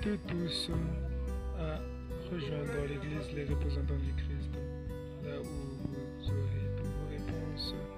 invite tous à rejoindre l'Église les représentants du Christ, là où vous aurez toutes vos réponses